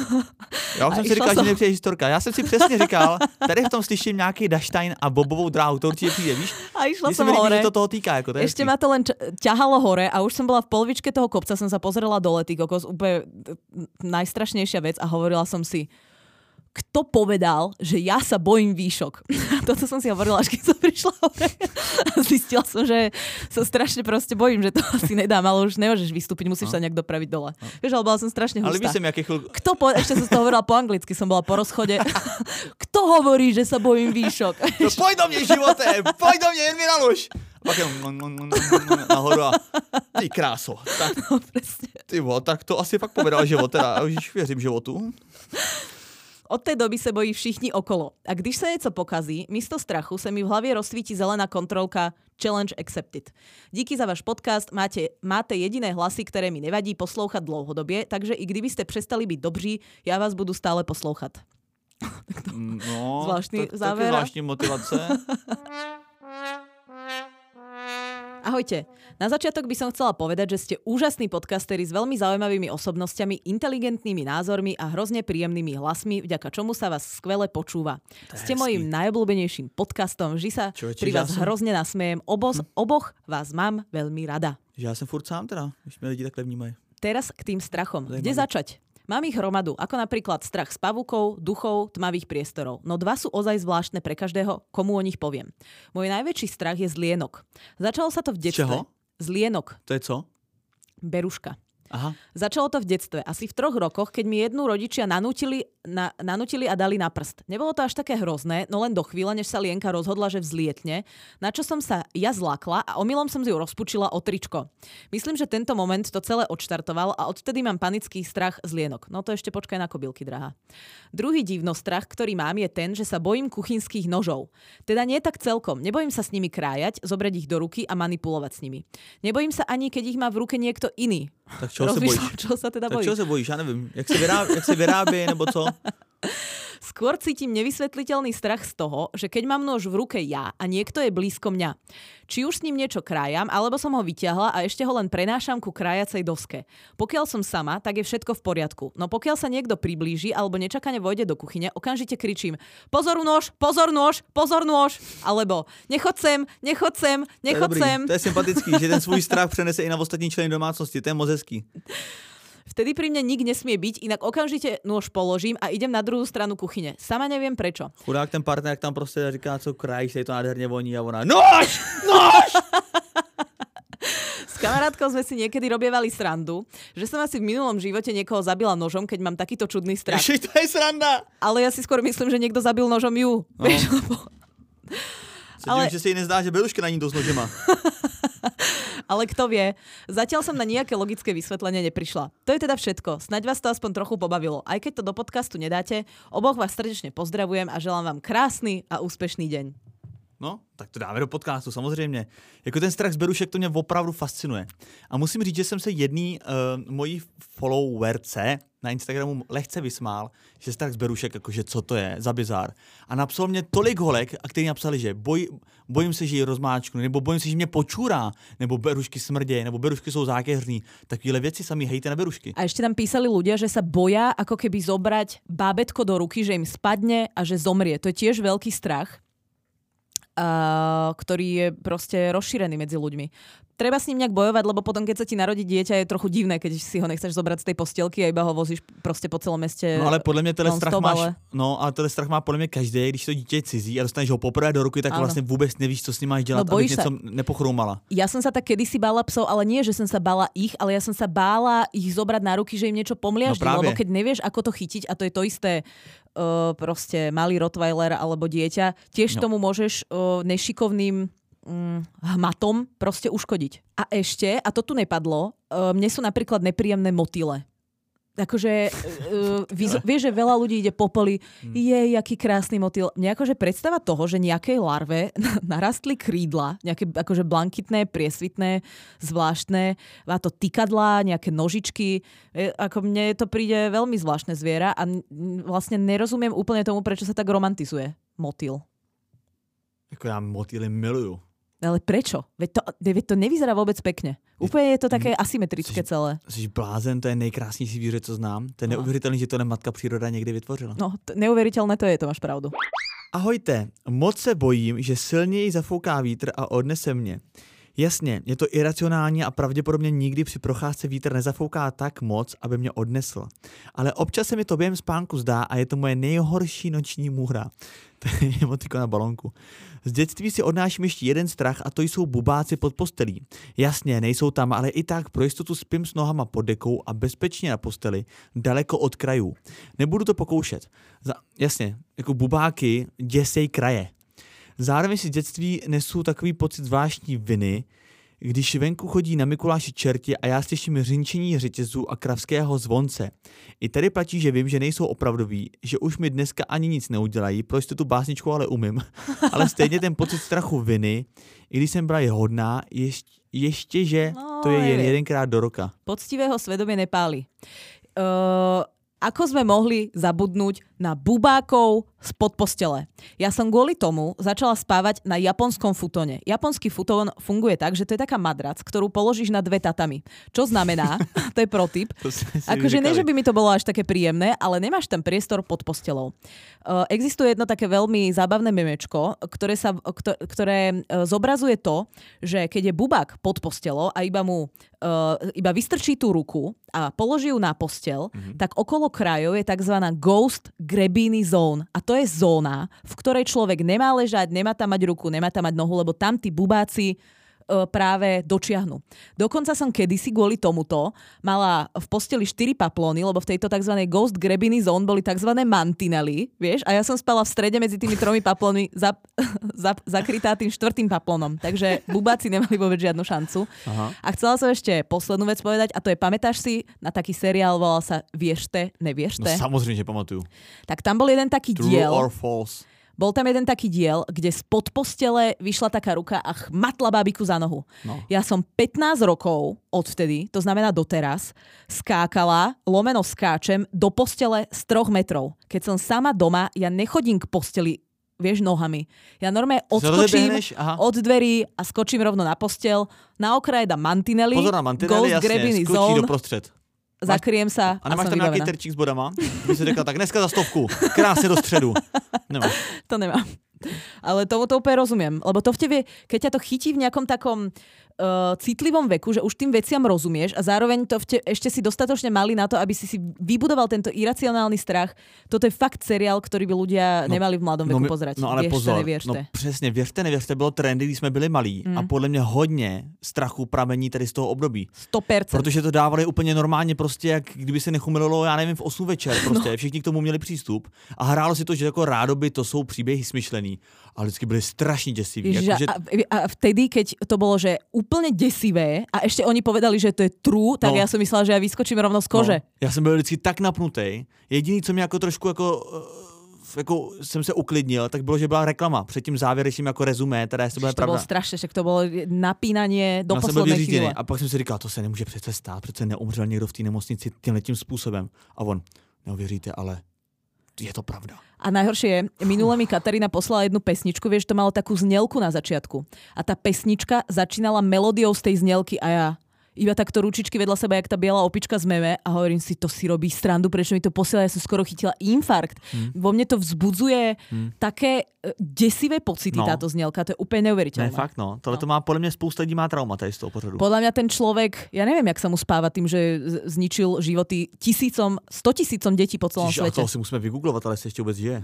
Já už jsem si říkal, som... že nepřijde historka. Já jsem si přesně říkal, tady v tom slyším nějaký Dachstein a bobovou dráhu, to určitě přijde, víš? A išla Když som hore. Že to toho týká, jako to je Ešte ma to len ťahalo hore a už som bola v polovičke toho kopca, som sa pozerala dole, ty kokos, úplne najstrašnejšia vec a hovorila som si, kto povedal, že ja sa bojím výšok. Toto som si hovorila, až keď som prišla hore. A zistila som, že sa strašne proste bojím, že to asi nedám, ale už nemôžeš vystúpiť, musíš no. sa nejak dopraviť dole. No. Vieš, ale bola som strašne hustá. Ale víš, som jaký chvíľ... Kto po... Ešte som to hovorila po anglicky, som bola po rozchode. Kto hovorí, že sa bojím výšok? No, poď do mne, živote! Poď do mne, jen mi nalož! Pak jenom nahoru a ty kráso. Tak, no, presne. Ty bo, tak to asi fakt povedal život, teda. Už věřím životu. Od té doby se bojí všichni okolo. A když se něco pokazí, místo strachu se mi v hlavě rozsvítí zelená kontrolka Challenge accepted. Díky za váš podcast, máte, máte jediné hlasy, které mi nevadí poslouchat dlouhodobě, takže i kdybyste přestali být dobří, já vás budu stále poslouchat. No, zvláštny tak, záver. taky zvláštní motivace. Ahojte. Na začiatok by som chcela povedať, že ste úžasní podcasteri s veľmi zaujímavými osobnostiami, inteligentnými názormi a hrozne príjemnými hlasmi, vďaka čomu sa vás skvele počúva. Ste mojím najobľúbenejším podcastom, vždy sa Čo, pri vás som... hrozne nasmejem. Obos, hm. Oboch vás mám veľmi rada. Ja som furt sám teda, když mě lidi takhle vnímají. Teraz k tým strachom. Zajímavý. Kde začať? Mám ich hromadu, ako napríklad strach z pavúkov, duchov, tmavých priestorov. No dva sú ozaj zvláštne pre každého, komu o nich poviem. Môj najväčší strach je z lienok. Začalo sa to v detstve. Čeho? Z lienok. To je co? Beruška. Aha. Začalo to v detstve. Asi v troch rokoch, keď mi jednu rodičia nanútili, na, nanútili a dali na prst. Nebolo to až také hrozné, no len do chvíle, než sa Lienka rozhodla, že vzlietne, na čo som sa ja zlákla a omylom som si ju rozpučila o tričko. Myslím, že tento moment to celé odštartoval a odtedy mám panický strach z lienok. No to ešte počkaj na kobylky, drahá. Druhý divnostrach, ktorý mám, je ten, že sa bojím kuchynských nožov. Teda nie tak celkom. Nebojím sa s nimi krájať, zobrať ich do ruky a manipulovať s nimi. Nebojím sa ani, keď ich má v ruke niekto iný. Tak čeho se bojíš? Čo sa teda tak bojíš? čeho se bojíš? Já nevím. Jak se vyrábí, jak se vyrábí nebo co? Skôr cítim nevysvetliteľný strach z toho, že keď mám nôž v ruke ja a niekto je blízko mňa, či už s ním niečo krájam, alebo som ho vyťahla a ešte ho len prenášam ku krájacej doske. Pokiaľ som sama, tak je všetko v poriadku. No pokiaľ sa niekto priblíži alebo nečakane vojde do kuchyne, okamžite kričím: pozor nôž, pozor nôž, pozor nôž, alebo nechod sem, nechod sem, nechod to sem. To je sympatický, že ten svůj strach přenese i na ostatní členy domácnosti. To je moc hezký. Vtedy pri mne nik nesmie byť, inak okamžite nôž položím a idem na druhú stranu kuchyne. Sama neviem prečo. Chudák ten partner tam prostě říká, co krajíš, je to nádherně voní a ona nož, nož! S kamarátkou sme si niekedy robievali srandu, že som asi v minulom živote niekoho zabila nožom, keď mám takýto čudný strach. Ježiš, to je sranda! Ale ja si skôr myslím, že niekto zabil nožom ju. No. Vieš, lebo... Ale... že si jej nezdá, že Beruška na ní dosť nožema. Ale kto vie, zatiaľ som na nejaké logické vysvetlenie neprišla. To je teda všetko. Snaď vás to aspoň trochu pobavilo. Aj keď to do podcastu nedáte, oboch vás srdečne pozdravujem a želám vám krásny a úspešný deň. No, tak to dáme do podcastu, samozřejmě. Jako ten strach z berušek, to mě opravdu fascinuje. A musím říct, že jsem se jedný uh, mojí followerce na Instagramu lehce vysmál, že strach z berušek, jakože co to je za bizár. A napsal mě tolik holek, a kteří napsali, že boj, bojím se, že ji rozmáčknu, nebo bojím se, že mě počůrá, nebo berušky smrdějí, nebo berušky jsou zákeřný. Takovéhle věci sami hejte na berušky. A ešte tam písali ľudia, že sa boja ako keby zobrať bábätko do ruky, že im spadne a že zomrie. To je tiež veľký strach. Uh, ktorý je proste rozšírený medzi ľuďmi. Treba s ním nejak bojovať, lebo potom, keď sa ti narodí dieťa, je trochu divné, keď si ho nechceš zobrať z tej postielky a iba ho vozíš proste po celom meste. No ale podle mě tenhle strach máš, ale... no a tenhle strach má podle mě každý, když to dítě je cizí a dostaneš ho poprvé do ruky, tak ano. Vlastně vůbec nevíš, co s ním máš dělat, no, abych něco nepochroumala. Ja som sa tak kedysi bála psov, ale nie, že som sa bála ich, ale ja som sa bála ich zobrať na ruky, že im niečo pomliaždí, no lebo keď nevieš, ako to chytiť, a to je to isté, uh, proste malý rottweiler alebo dieťa, tiež no. tomu môžeš uh, nešikovným um, hmatom proste uškodiť. A ešte, a to tu nepadlo, uh, mne sú napríklad nepríjemné motyle. Akože, uh, viz, vieš, že veľa ľudí ide po poli, hmm. je, jaký krásny motýl. Mne akože predstava toho, že nejakej larve narastli krídla, nejaké akože blankitné, priesvitné, zvláštne, má to tykadlá, nejaké nožičky, ako mne to príde veľmi zvláštne zviera a vlastne nerozumiem úplne tomu, prečo sa tak romantizuje motýl. Jako ja motýly miluju. Ale prečo? Veď to, veď to nevyzerá vôbec pekne. Úplne je to také asymetrické jsi, celé. Jsi blázen, to je nejkrásnější zvíře, co znám. To je no. neuvěřitelný, že to matka příroda někdy vytvořila. No, t- neuvěřitelné to je, to máš pravdu. Ahojte, moc se bojím, že silněji zafouká vítr a odnese mě. Jasně, je to iracionální a pravděpodobně nikdy při procházce vítr nezafouká tak moc, aby mě odnesl. Ale občas se mi to během spánku zdá a je to moje nejhorší noční můra. To je emotikon na balonku. Z dětství si odnáším ještě jeden strach a to jsou bubáci pod postelí. Jasně, nejsou tam, ale i tak pro jistotu spím s nohama pod dekou a bezpečně na posteli, daleko od krajů. Nebudu to pokoušet. Za, jasně, jako bubáky děsej kraje. Zároveň si z dětství nesu takový pocit zvláštní viny, když venku chodí na Mikuláši čerti a já slyším řinčení řetězů a kravského zvonce. I tady platí, že vím, že nejsou opravdoví, že už mi dneska ani nic neudělají, proč to tu básničku ale umím. Ale stejně ten pocit strachu viny, i když jsem byla je hodná, ještě, ještě že no, to je jen jedenkrát do roka. Poctivého svedomie nepáli. Uh, ako sme mohli zabudnúť na bubákov spod postele? Ja som kvôli tomu začala spávať na japonskom futone. Japonský futón funguje tak, že to je taká madrac, ktorú položíš na dve tatami. Čo znamená, to je protip, akože nie, že by mi to bolo až také príjemné, ale nemáš tam priestor pod postelou. Uh, existuje jedno také veľmi zábavné memečko, ktoré, sa, ktoré zobrazuje to, že keď je bubák pod postelou a iba mu uh, iba vystrčí tú ruku a položí ju na postel, mm-hmm. tak okolo krajov je tzv. Ghost Grebini Zone. A to je zóna, v ktorej človek nemá ležať, nemá tam mať ruku, nemá tam mať nohu, lebo tam tí bubáci práve dočiahnu. Dokonca som kedysi kvôli tomuto mala v posteli štyri paplóny, lebo v tejto tzv. Ghost Grebini Zone boli tzv. Mantinely, vieš, a ja som spala v strede medzi tými tromi paplónmi za, za, zakrytá tým štvrtým paplónom. Takže bubáci nemali vôbec žiadnu šancu. Aha. A chcela som ešte poslednú vec povedať, a to je, pamätáš si na taký seriál, volal sa Viešte, neviešte? No samozrejme, že pamatujú. Tak tam bol jeden taký True diel. Or false. Bol tam jeden taký diel, kde spod postele vyšla taká ruka a chmatla bábiku za nohu. No. Ja som pätnásť rokov odvtedy, to znamená doteraz, skákala, lomeno skáčem, do postele z troch metrov. Keď som sama doma, ja nechodím k posteli, vieš, nohami. Ja normálne odskočím od dverí a skočím rovno na postel. Na okraje dám mantinely. Pozor na mantinely, jasne, skočí doprostřed. Zakriem sa a nemáš tam nejaký terčík s bodama? By si řekla, tak dneska za stovku, krásne do středu. Nemáš. To nemám. Ale tomu to úplne rozumiem. Lebo to v tebe, keď ťa to chytí v nejakom takom uh, citlivom veku, že už tým veciam rozumieš a zároveň to v te, ešte si dostatočne mali na to, aby si si vybudoval tento iracionálny strach. Toto je fakt seriál, ktorý by ľudia no, nemali v mladom veku no, pozerať. No ale Věřte, pozor, nevěřte. no přesně, věřte, nevěřte, bylo trendy, když jsme byli malí mm. a podle mě hodně strachu pramení tady z toho období. sto percent. Protože to dávali úplně normálně prostě, jak kdyby se nechumililo, já nevím, v osm večer prostě. No. Všichni k tomu měli přístup a hrálo si to, že jako rádoby to jsou příběhy smyšlený, ale vždycky byli strašně děsiví. Ježiš, jako, že... a, a vtedy, keď to bolo, že úplne desivé a ešte oni povedali, že to je true, tak no. ja som myslela, že ja vyskočím rovno z kože. No. Já jsem byl vždycky tak napnutý. Jediný, co mě jako trošku jako... jako jsem se uklidnil, tak bylo, že byla reklama před tím závěrečným jako rezumé, teda jestli to bude pravda. To bylo strašně, že to bylo napínanie do no, posledné chvíle. A pak jsem si říkal, to se nemůže přece stát, přece neumřel někdo v té nemocnici tímhletím způsobem. A on, neuvěříte, ale je to pravda. A najhoršie je, minule mi Katarína poslala jednu pesničku, vieš, to malo takú znelku na začiatku. A tá pesnička začínala melódiou z tej znelky a ja iba takto ručičky vedľa seba, jak tá biela opička z meme a hovorím si, to si robí srandu, prečo mi to posiela, ja som skoro chytila infarkt. Hmm. Vo mne to vzbudzuje hmm. také desivé pocity, no. Táto znielka, to je úplne neuveriteľné. Ne, fakt no, tohle no. To má, podľa mňa spousta lidí má trauma tady z toho pořadu. Podľa mňa ten človek, ja neviem, jak sa mu spáva tým, že zničil životy tisícom, stotisícom detí po celom Čiže, svete. A to si musíme vygooglovat, ale si ešte vôbec žije.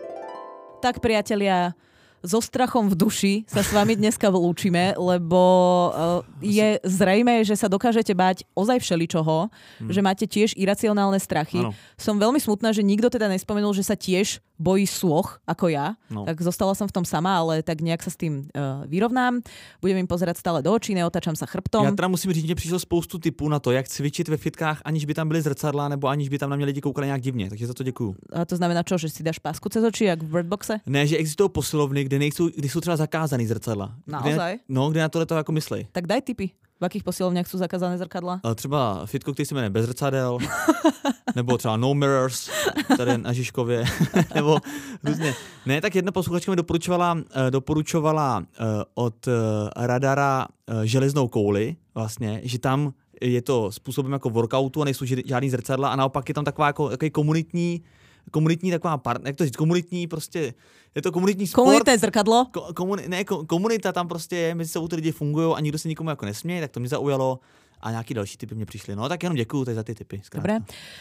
Tak priatelia, so strachom v duši sa s vami dneska vlúčime, lebo uh, je zrejmé, že sa dokážete báť ozaj všeličoho, hmm. že máte tiež iracionálne strachy. Ano. Som veľmi smutná, že nikto teda nespomenul, že sa tiež bojí sôch, ako ja. No. Tak zostala som v tom sama, ale tak nejak sa s tým uh, vyrovnám. Budem im pozerať stále do očí, neotačam sa chrbtom. Já teda musím říct, že přišlo spoustu tipů na to, jak cvičit ve fitkách, aniž by tam byly zrcadla, nebo aniž by tam na mě lidi koukali nějak divně. Takže za to děkuju. A to znamená čo, že si dáš pásku cez oči, jak v Birdboxe? Ne, že existují posilovny, kde nejsou, kde jsou třeba zakázaný zrcadla. Naozaj? Kde, no, kde na tohle to jako myslej. Tak daj tipy. V akých posilovniach sú zakázané zrkadla? A třeba fitko, který se jmenuje Bez zrcadel, nebo třeba No Mirrors, tady na Žižkově, nebo různě. Ne, tak jedna posluchačka mi doporučovala, doporučovala od Radara železnou kouli, vlastně, že tam je to způsobem jako workoutu a nejsou žádný zrcadla a naopak je tam taková jako takový komunitní komunitní taková part, jak to říct, komunitní prostě, je to komunitní sport. Komunitné zrkadlo? Ko, komuni, ne, komunita tam prostě je, mezi sebou ty lidi fungují a nikdo se nikomu jako nesměje, tak to mě zaujalo a nějaký další typy mě přišly. No tak jenom děkuju teď za ty typy. Dobre.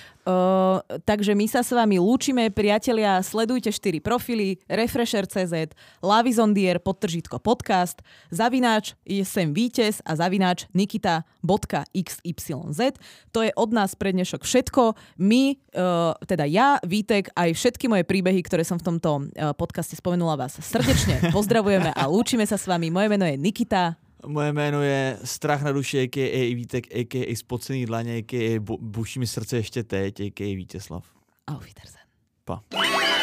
Uh, takže my sa s vami lúčime, priatelia, sledujte štyri profily, Refresher bodka cé zet, Lavizondier, podtržítko podcast, zavináč je sem vítěz a zavináč nikita bodka iks ypsilon zet. To je od nás pre dnešok všetko. My, uh, teda ja, Vítek, aj všetky moje príbehy, ktoré som v tomto uh, podcaste spomenula, vás srdečne pozdravujeme a lúčime sa s vami. Moje meno je Nikita. Moje jméno je Strach na duši, a ká a. Vítek, a ká a. Spocený dlaně, a ká a. Buší mi srdce ještě teď, a ká a. Vítězslav. Auf Wiedersehen. Pa.